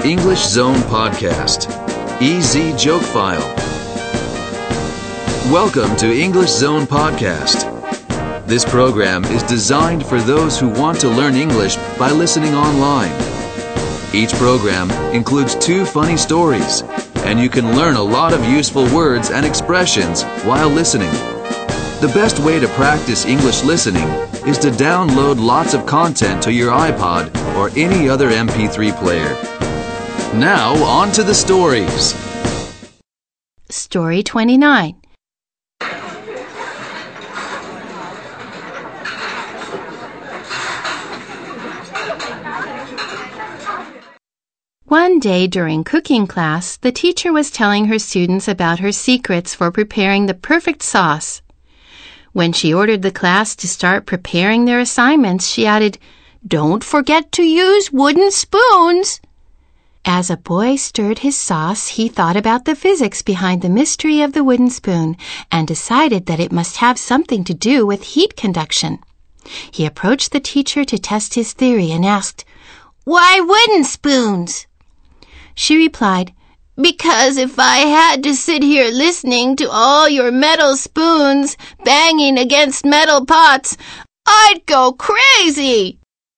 English Zone Podcast. Easy Joke File. Welcome to English Zone Podcast. This program is designed for those who want to learn English by listening online. Each program includes 2 funny stories, and you can learn a lot of useful words and expressions while listening. The best way to practice English listening is to download lots of content to your iPod or any other MP3 player. Now, on to the stories. Story 29. One day during cooking class, the teacher was telling her students about her secrets for preparing the perfect sauce. When she ordered the class to start preparing their assignments, she added, "Don't forget to use wooden spoons." As a boy stirred his sauce, he thought about the physics behind the mystery of the wooden spoon and decided that it must have something to do with heat conduction. He approached the teacher to test his theory and asked, "Why wooden spoons?" She replied, "Because if I had to sit here listening to all your metal spoons banging against metal pots, I'd go crazy."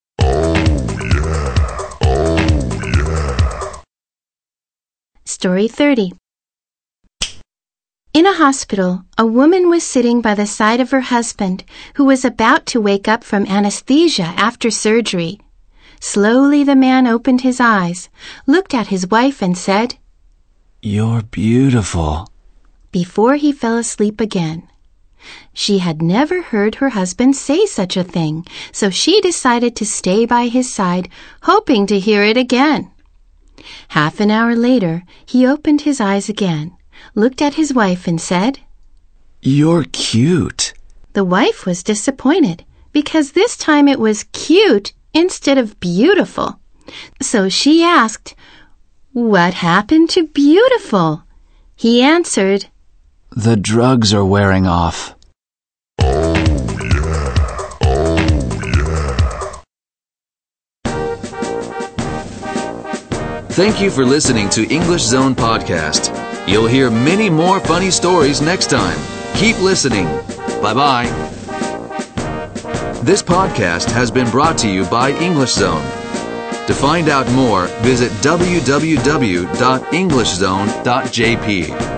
Story 30. In a hospital, a woman was sitting by the side of her husband, who was about to wake up from anesthesia after surgery. Slowly the man opened his eyes, looked at his wife and said, "You're beautiful," before he fell asleep again. She had never heard her husband say such a thing, so she decided to stay by his side, hoping to hear it again. Half an hour later, he opened his eyes again, looked at his wife and said, "You're cute." The wife was disappointed because this time it was cute instead of beautiful. So she asked, "What happened to beautiful?" He answered, "The drugs are wearing off." Thank you for listening to English Zone Podcast. You'll hear many more funny stories next time. Keep listening. Bye-bye. This podcast has been brought to you by English Zone. To find out more, visit www.englishzone.jp.